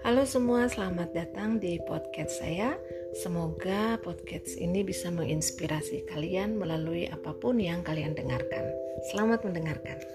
Halo semua, selamat datang di podcast saya. Semoga podcast ini bisa menginspirasi kalian melalui apapun yang kalian dengarkan. Selamat mendengarkan.